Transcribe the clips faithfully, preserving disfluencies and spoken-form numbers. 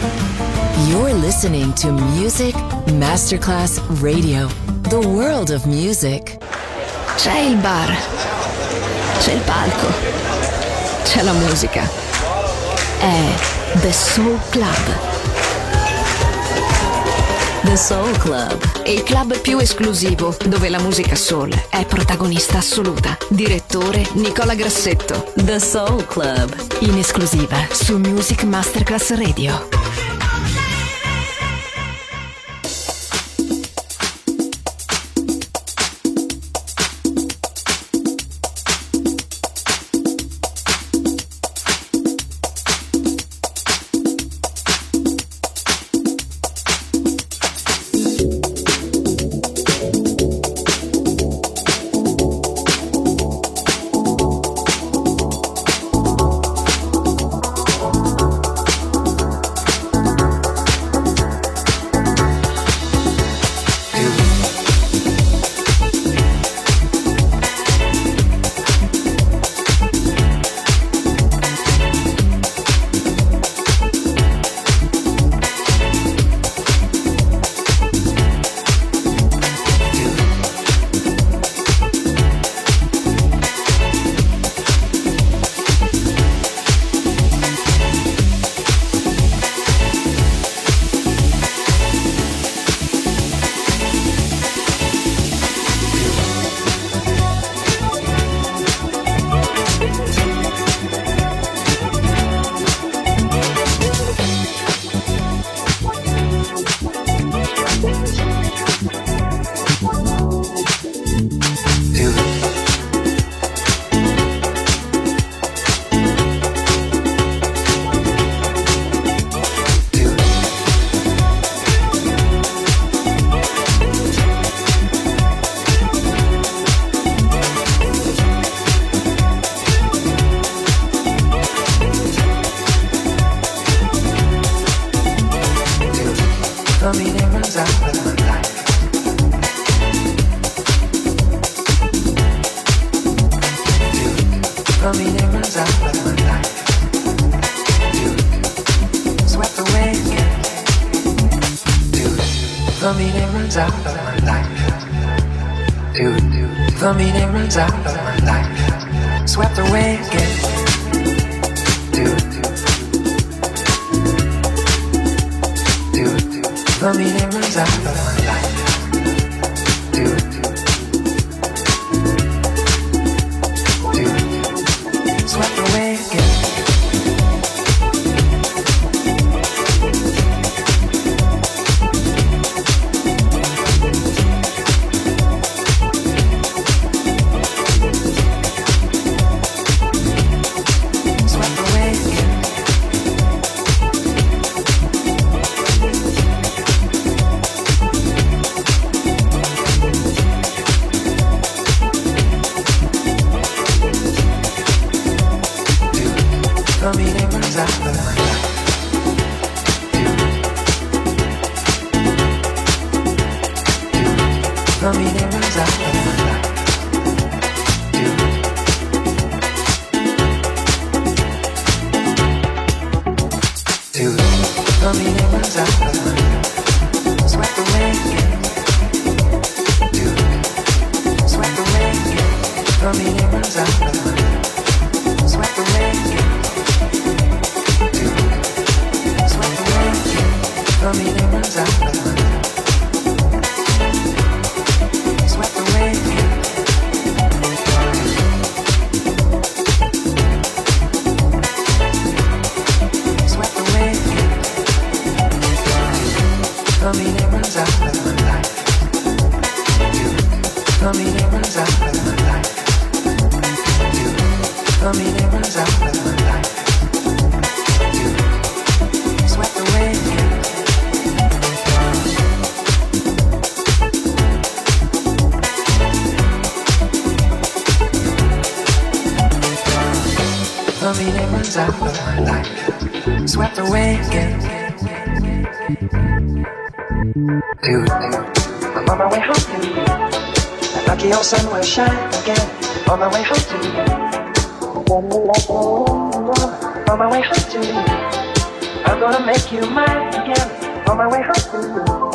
You're listening to Music Masterclass Radio, the world of music. C'è il bar, c'è il palco, c'è la musica. È The Soul Club. The Soul Club, il club più esclusivo dove la musica soul è protagonista assoluta. Direttore Nicola Grassetto. The Soul Club, In esclusiva su Music Masterclass Radio. I'm gonna make you mine again on my way home.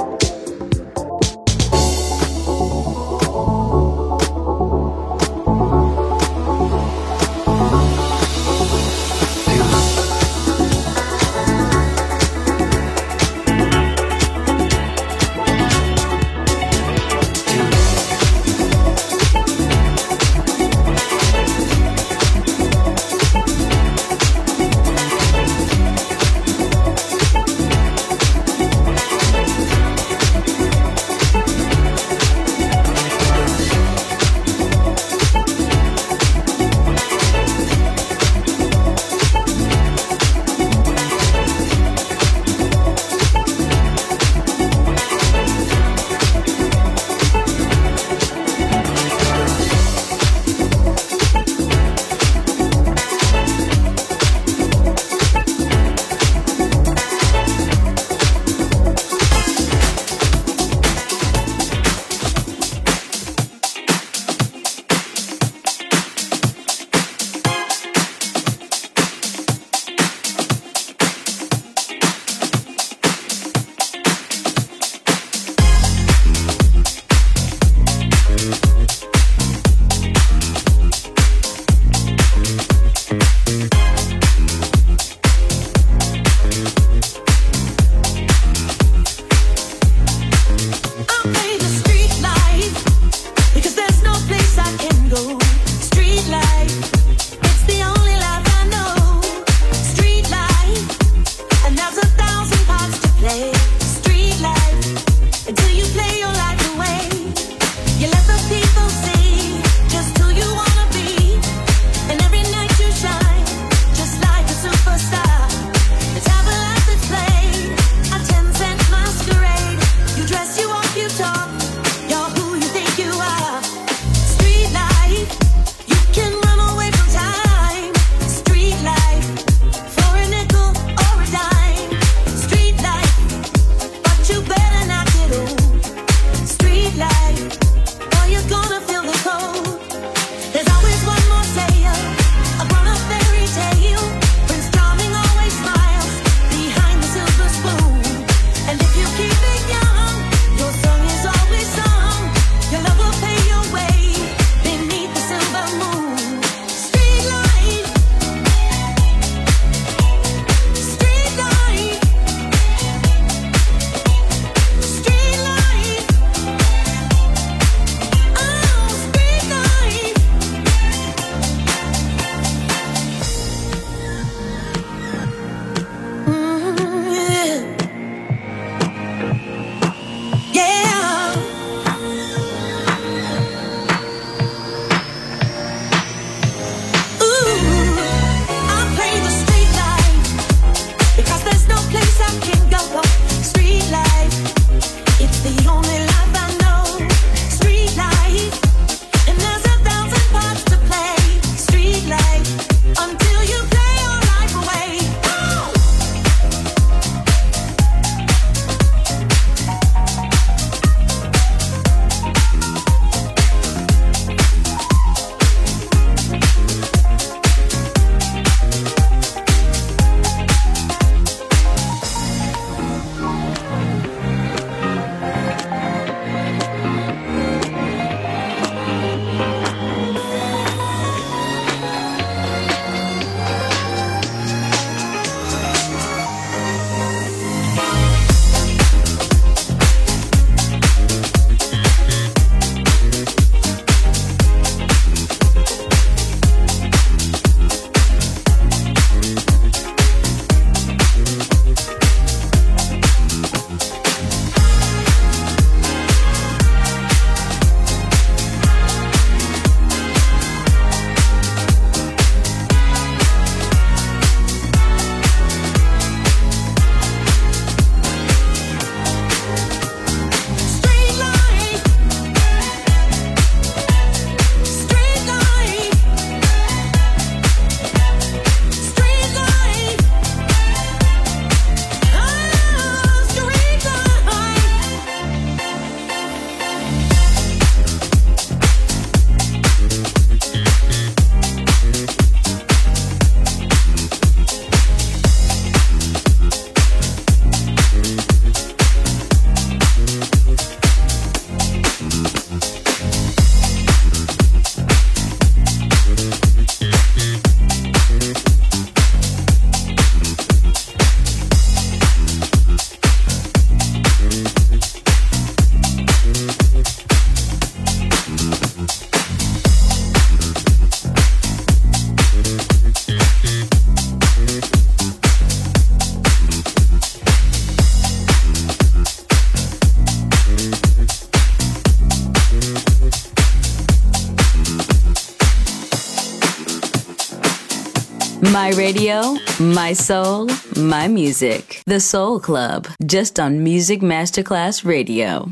My radio, my soul, my music. The Soul Club, just on Music Masterclass Radio.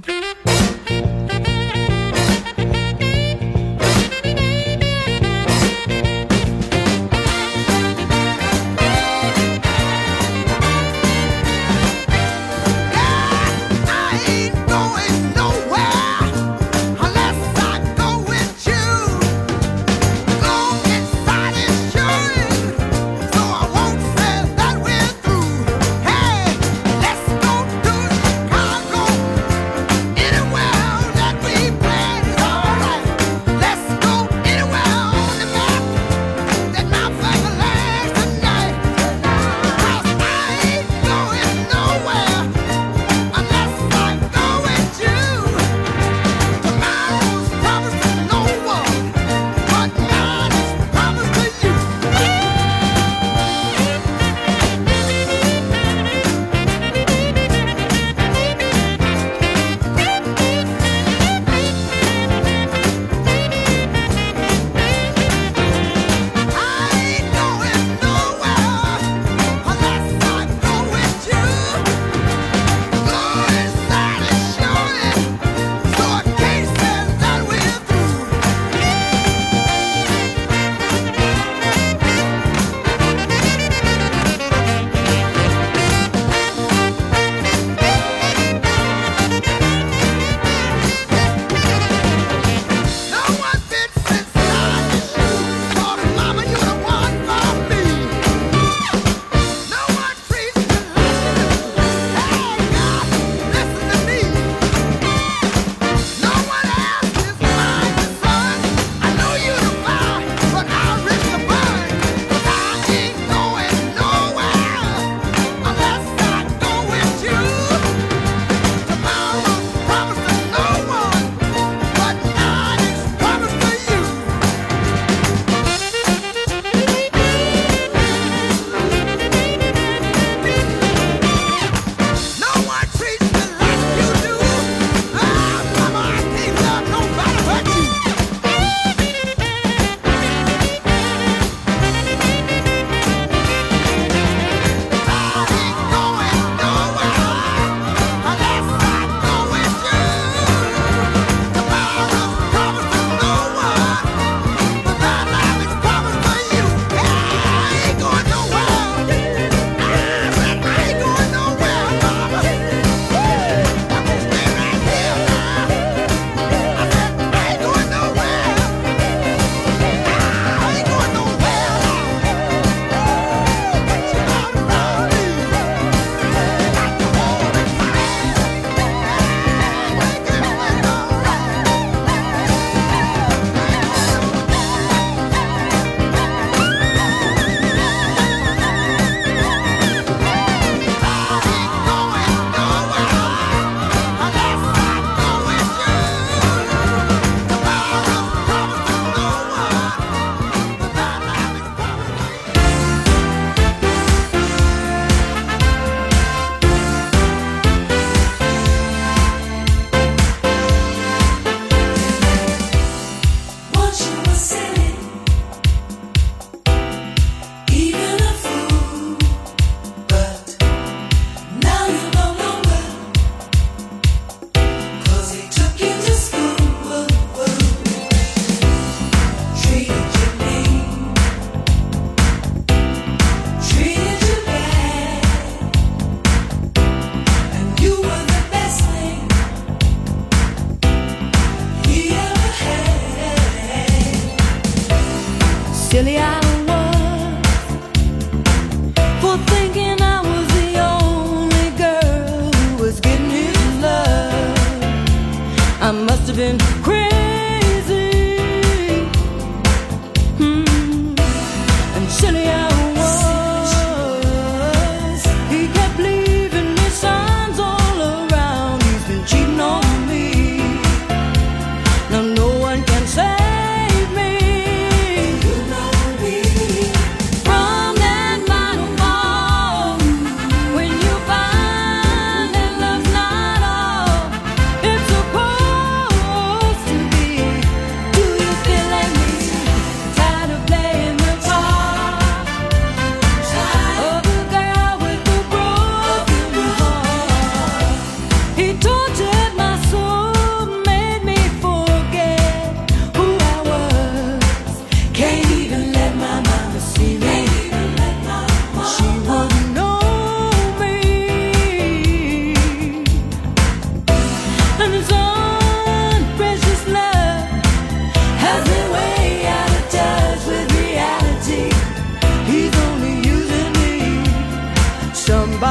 Anyway.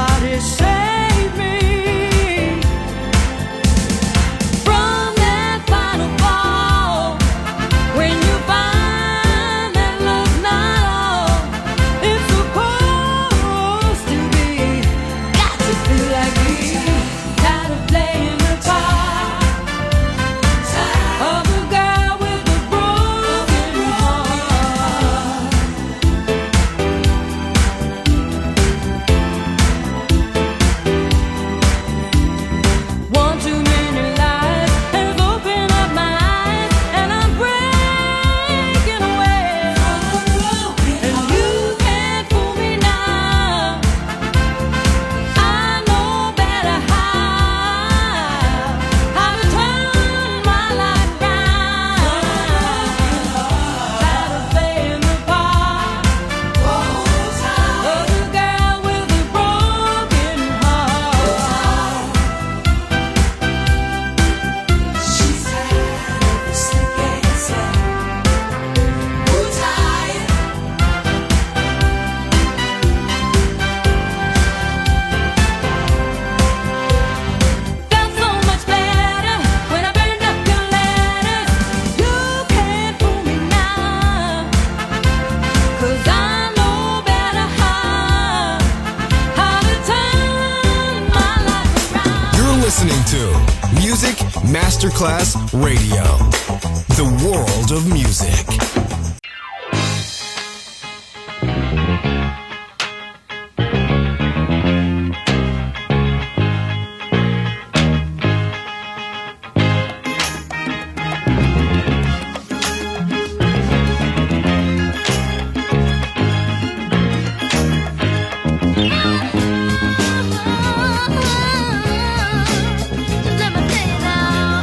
Somebody save me from that final fall. When you find that love's not all it's supposed to be. Got to feel like me, tired of playing the part of the girl with the broken heart. One too many lies has opened up my eyes, and I'm breaking away. And you can't fool me now. I know better how how to turn my life round. Tired of playing the part of the girl with the broken heart. She's tired of the slick answer. Who's tired? Felt so much better when I burned up your letters. You can't fool me now, 'cause I know better how how to turn my life around. You're listening to Music Masterclass Radio, the world of music. Let me tell you now.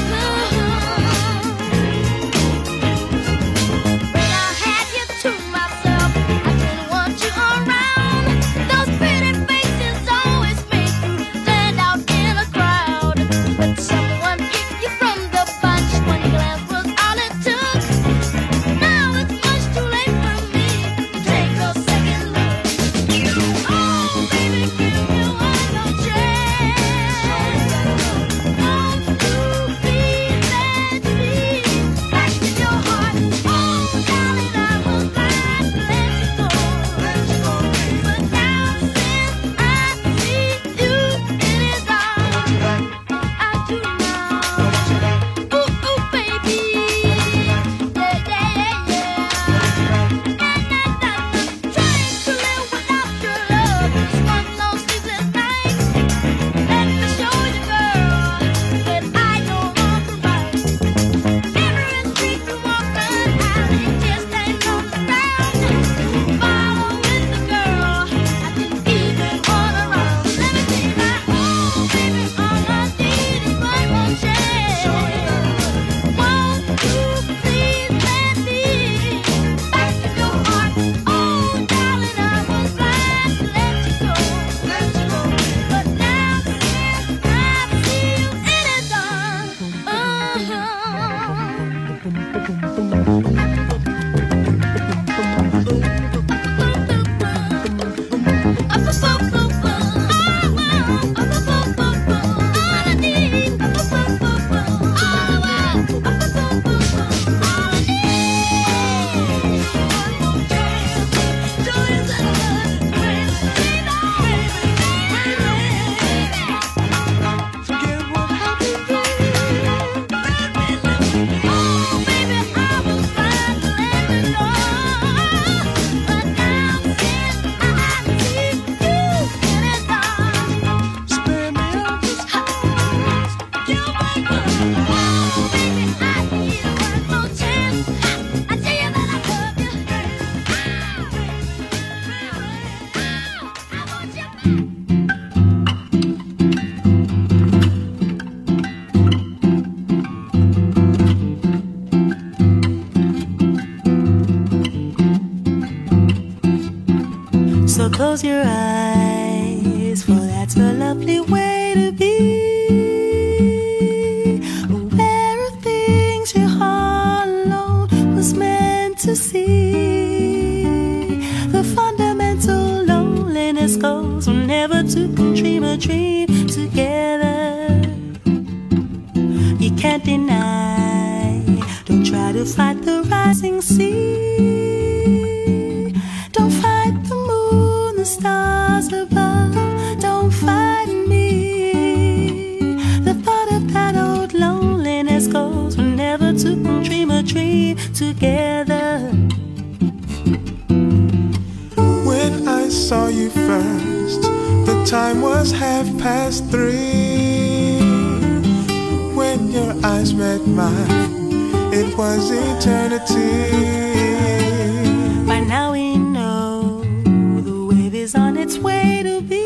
So close your eyes, for that's a lovely way to be. Aware of things your heart alone was meant to see. The fundamental loneliness goes from never to two can dream a dream together. You can't deny, don't try to fight the rising sea. Don't fight the moon, the stars above, don't fight me. The thought of that old loneliness goes whenever two can dream a dream together. When I saw you first, the time was half past three. When your eyes met mine, it was eternity. By now we know the wave is on its way to be.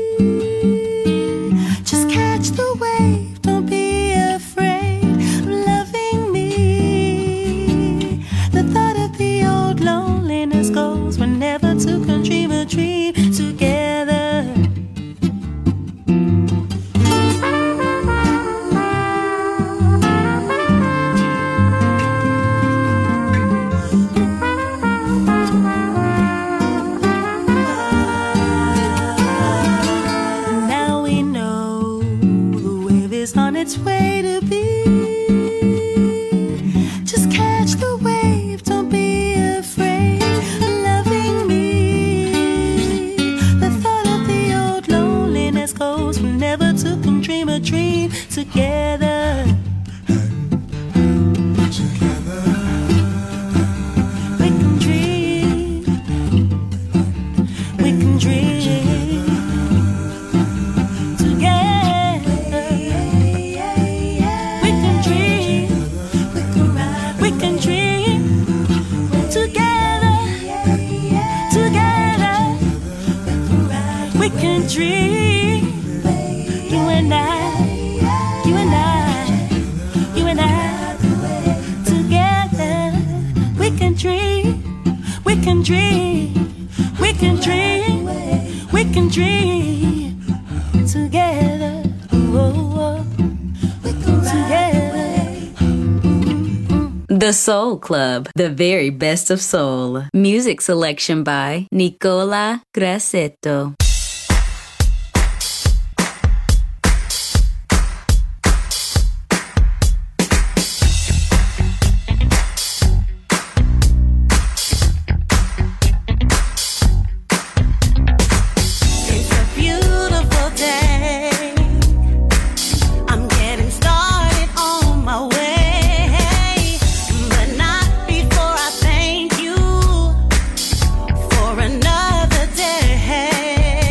Just catch the wave, don't be afraid of loving me. The thought of the old loneliness goes whenever two can dream a dream together. Now we know the wave is on its way to be. Just catch the wave, don't be afraid of loving me. The thought of the old loneliness goes whenever two can dream a dream together. Together, We can dream, we can dream together. We can dream, we can dream together, together. We can dream, you and I, you and I, you and I, together. We can dream, we can dream, we can dream, we can dream together. Oh, together. The Soul Club, the very best of soul. Music selection by Nicola Grassetto. It's a beautiful day. I'm getting started on my way, but not before I thank you for another day.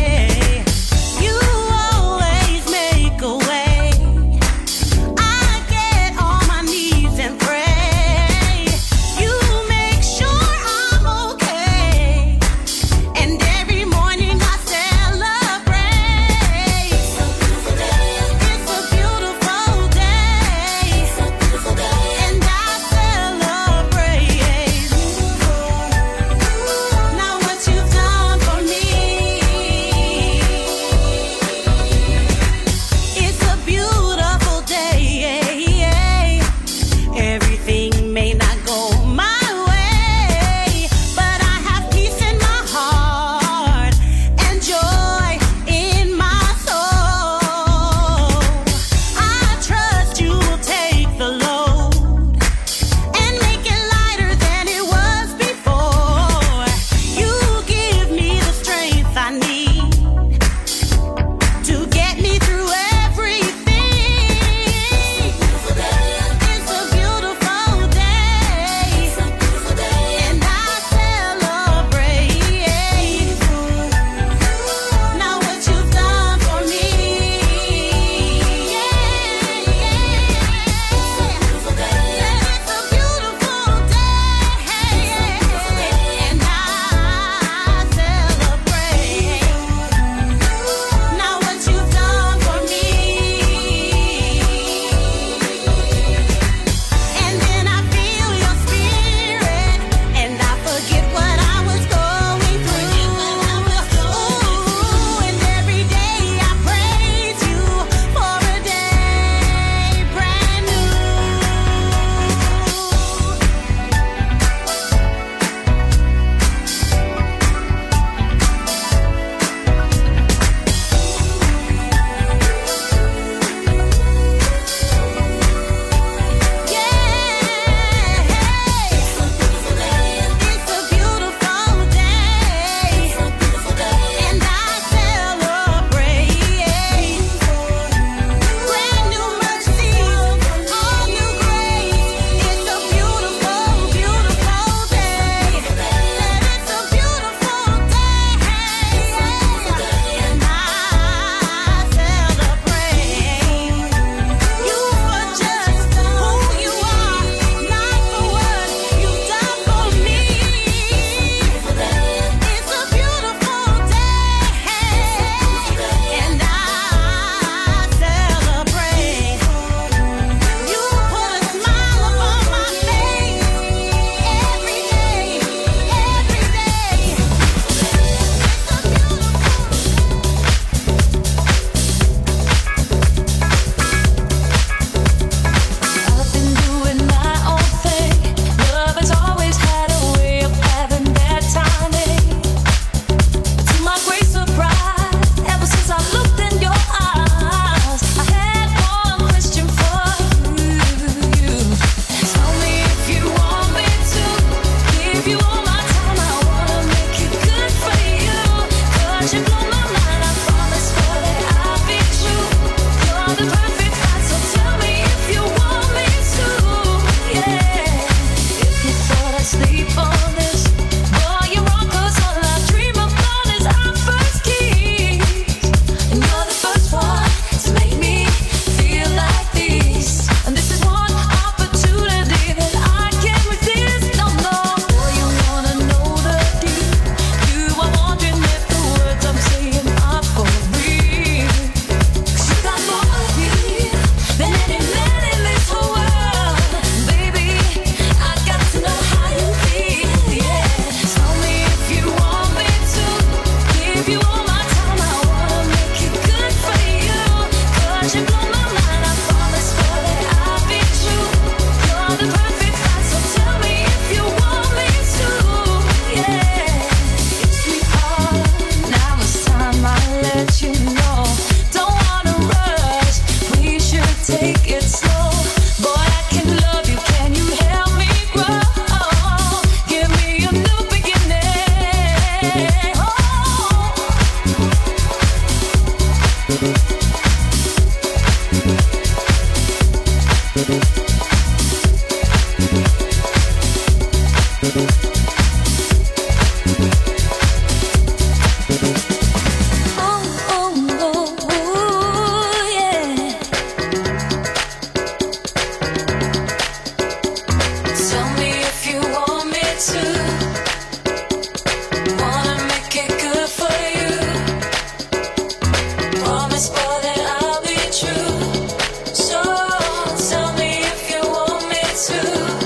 Promise, boy, that I'll be true. So tell me if you want me to.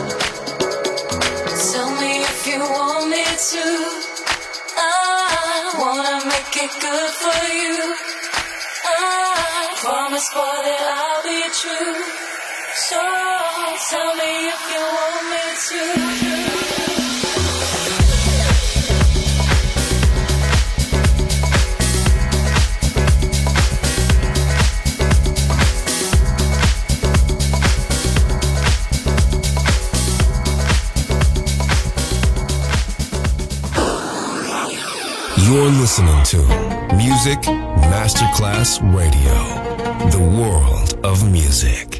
Tell me if you want me to. I wanna make it good for you. I promise, boy, that I'll be true. So tell me if you want me to. You're listening to Music Masterclass Radio, the world of music.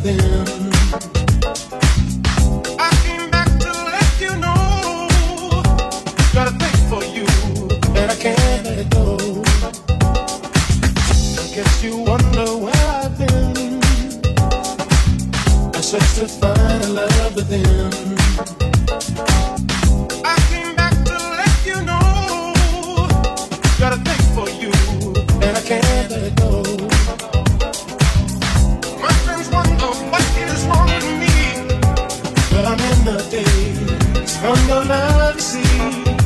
them. I came back to let you know. Got a thing for you, and I can't let it go. I guess you wonder where I've been. I searched to find a love within. I came back to let you know. Got a thing for you, and I can't let it go. My friends wonder what is wrong with me, but I'm in the days from your love, you see.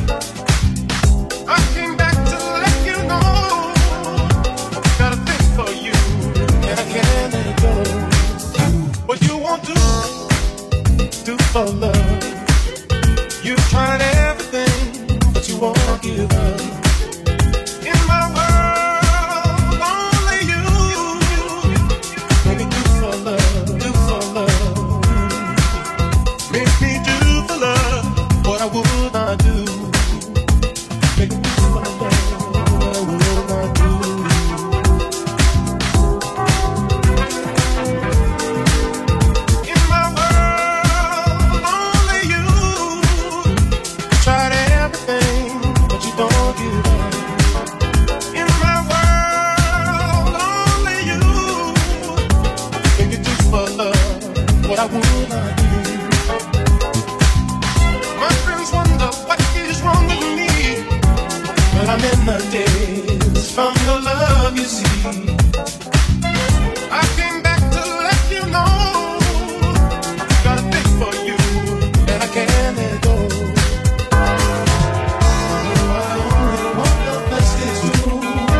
I came back to let you know. Got a thing for you, and I can't let it go. What you won't do, do for love. You've tried everything, but you won't give up. In my world, only you. Make me do for love, do for love. Make me do for love what I would not do. Make me do for love what I would not do. In my world, only you. Tried everything, but you don't give up. In my world, only you. Can you do for love what I would not do? My friends wonder what is wrong with me, but I'm in the days from your love, you see. I came back to let you know. Got a thing for you, and I can't let go. I only want the best is you.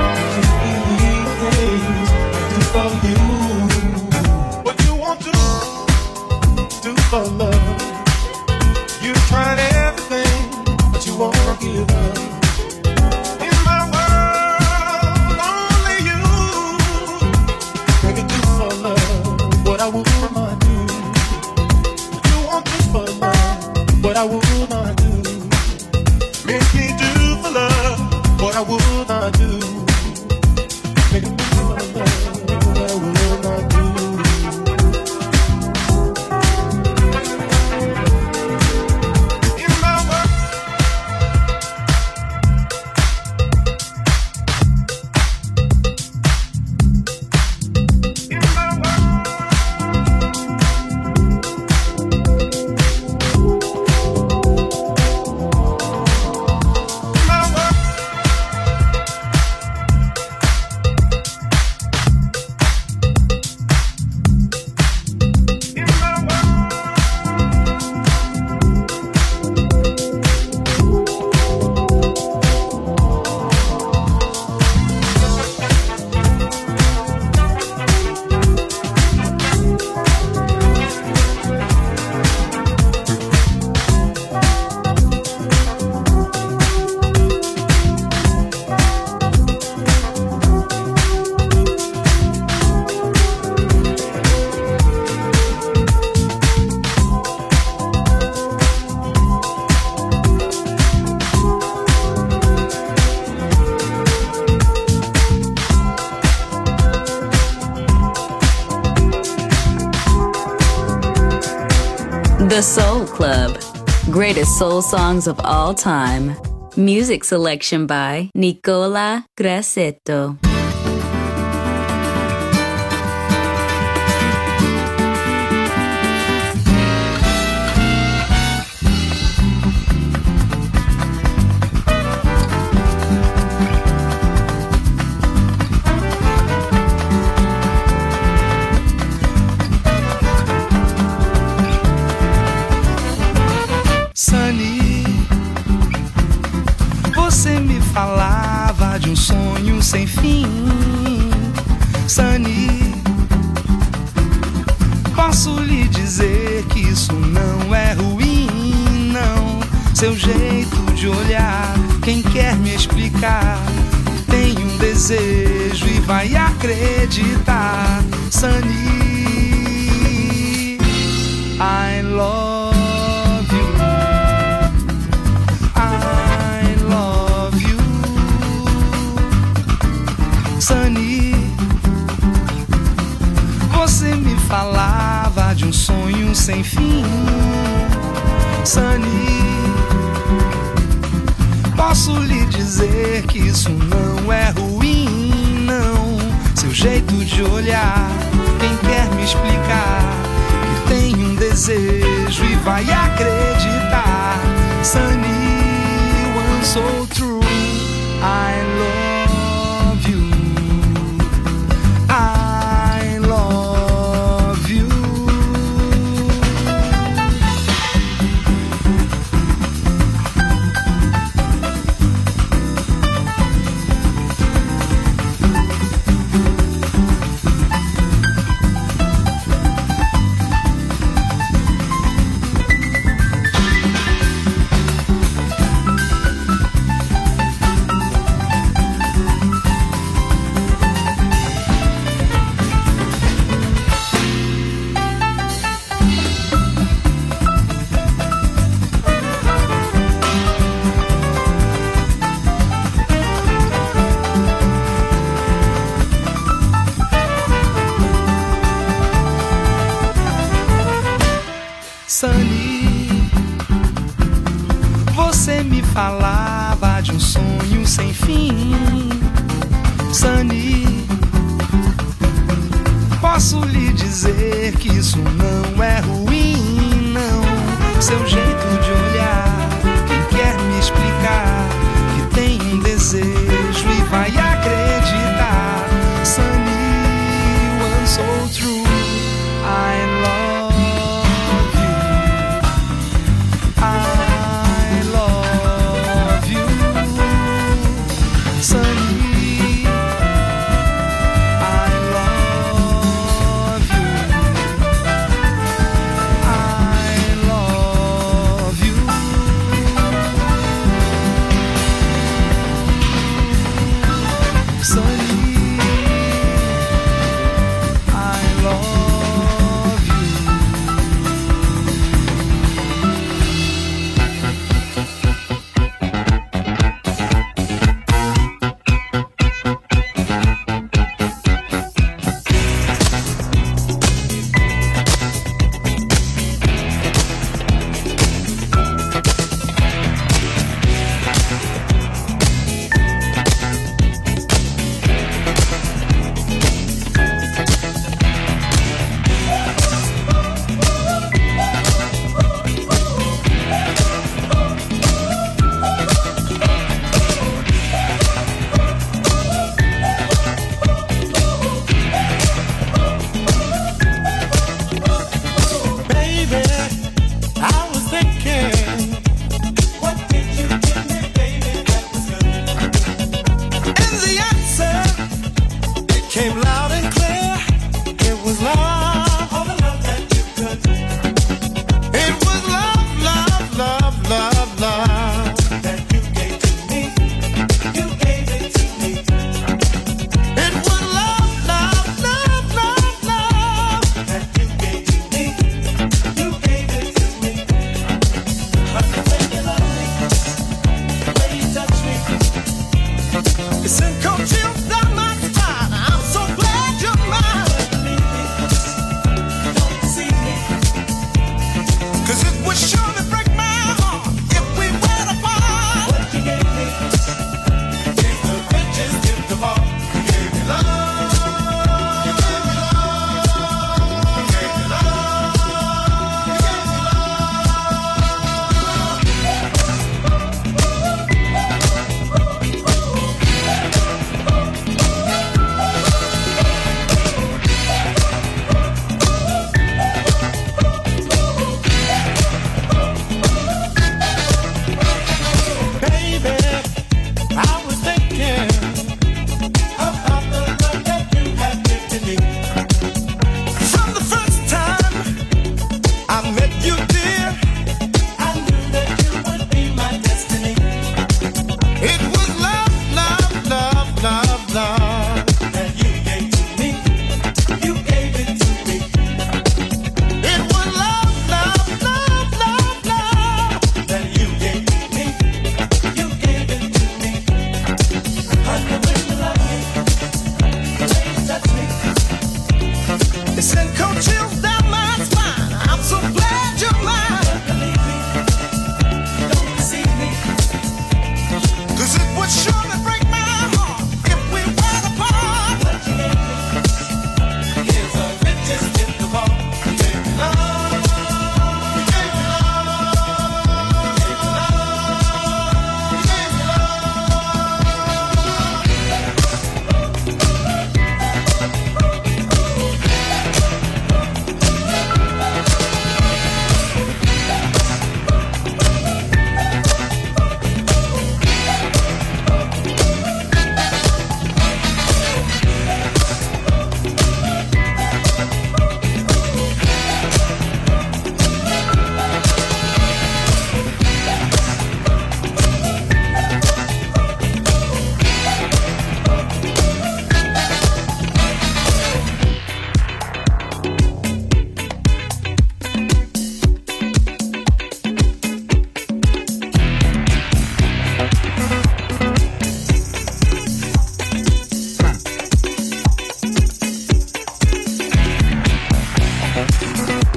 Things I do for you. What you want to do for love. You tried everything, but you won't give up. In my world, only you. Can you do for love what I would not do? You won't do for love what I would not do. Make me do for love what I would not do. Make me do for love what I would not do. In my world, in my world, my world. The Soul Club. Greatest soul songs of all time. Music selection by Nicola Grassetto. Sunny, você me falava de um sonho sem fim. Sunny, posso lhe dizer que isso não é ruim, não. Seu jeito de olhar, quem quer me explicar, tem um desejo e vai acreditar. Sunny, I love you. I love you. Sunny, você me falar um sonho sem fim. Sunny, posso lhe dizer que isso não é ruim, não. Seu jeito de olhar, quem quer me explicar que tem um desejo e vai acreditar. Sunny, one so true, I love you, I love you. Sunny, você me falava de um sonho sem fim. Sunny, posso lhe dizer que isso não é ruim, não. Seu jeito de olhar, quem quer me explicar que tem um desejo e vai acreditar. Sunny, one so true, I love I love you, Sunny, I love you, I love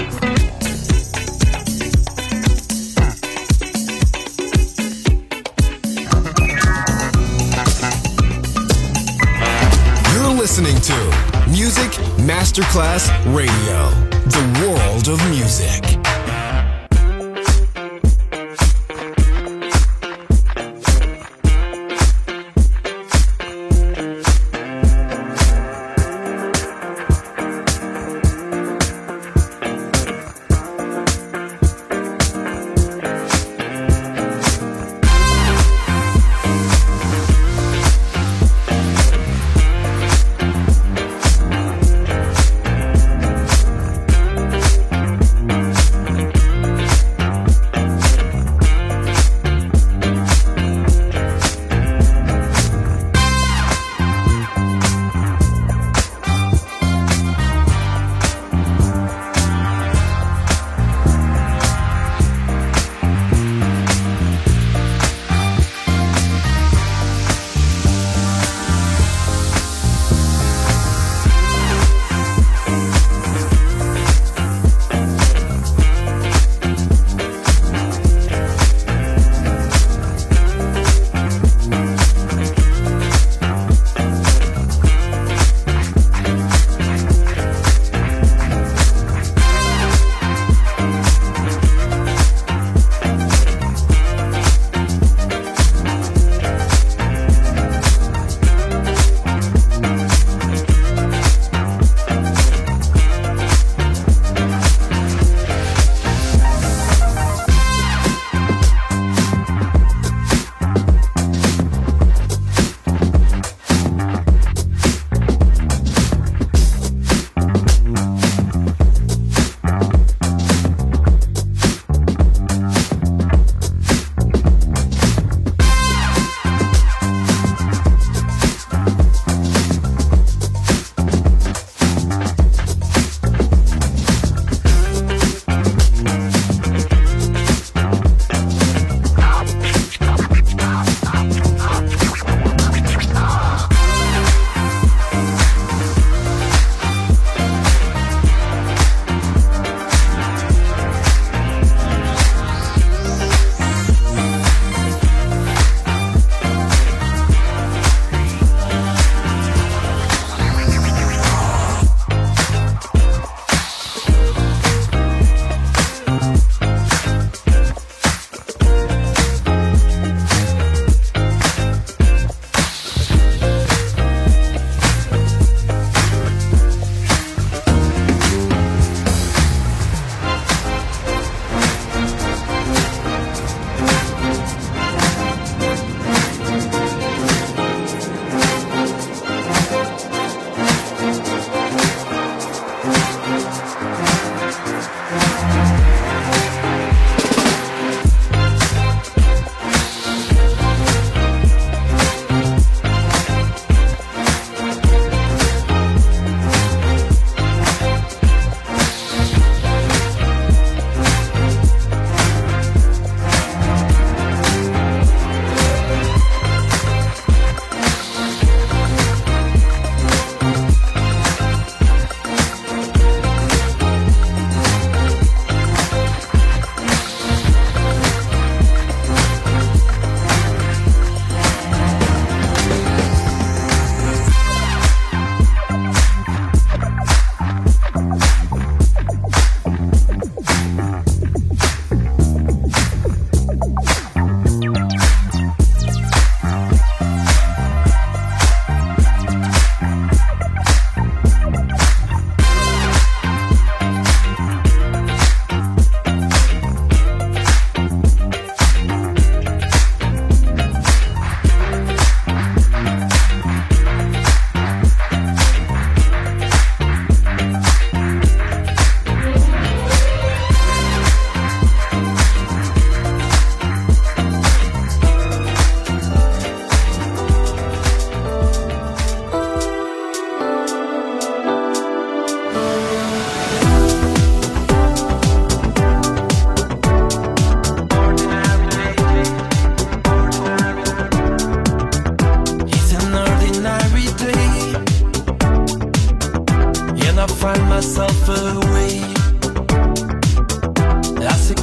Listening to Music Masterclass Radio, the world of music.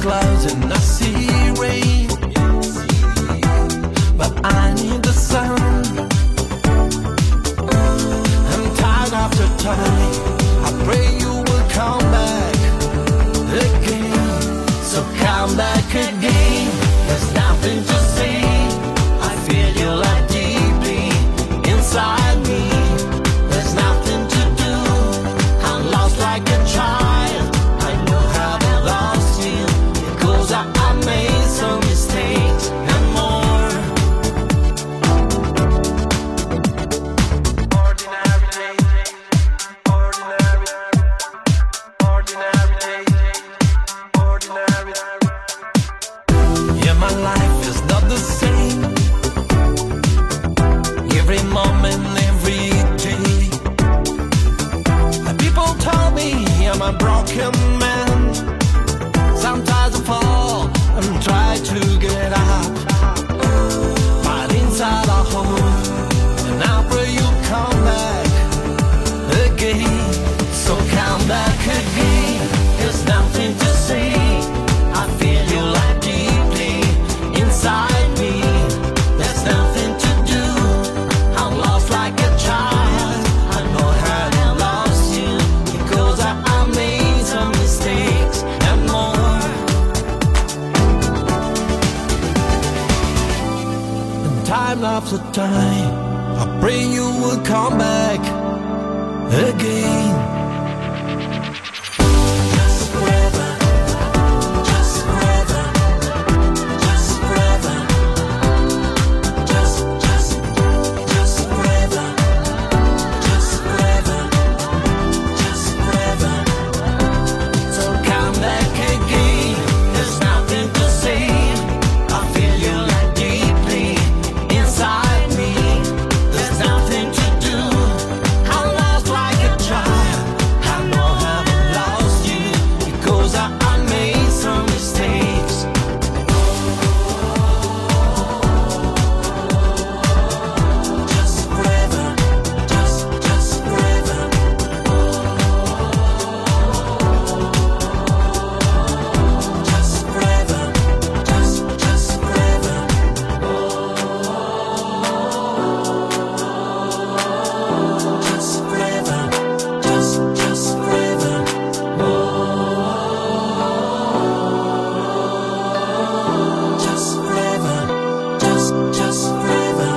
clouds and I see rain, but I need the sun. I'm tired after time. I pray you will come back again. So come back again. There's nothing to say. I feel you like deeply inside me. There's nothing to do. I'm lost like a child. I know how I lost you because I, I made some mistakes and more. Ordinary day, ordinary, ordinary day, ordinary. Yeah, my life is not the same. Every moment, every day. People told me I'm a broken man. Sometimes I fall and try to get up, but inside I hold, and I pray you come back again. So come back again. There's nothing to say. I feel you like deeply inside me. There's nothing to do. I'm lost like a child. I know how I lost you because I, I made some mistakes and more. And time after time, I pray you will come back again. Just forever, just forever, just forever, just, just, just forever, just forever, just forever. So come back again. There's nothing to say. I feel you like deeply inside me. There's nothing to do. I'm lost like a child. I know how I lost you because I, I made some mistakes. Just forever, just, just forever. Just forever, just, just forever. Just forever, just, just forever. Just forever, just, just forever.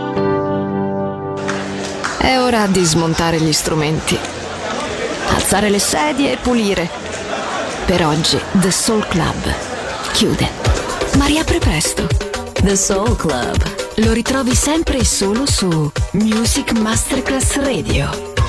È ora di smontare gli strumenti, alzare le sedie e pulire. Per oggi The Soul Club chiude, ma riapre presto. The Soul Club. Lo ritrovi sempre e solo su Music Masterclass Radio.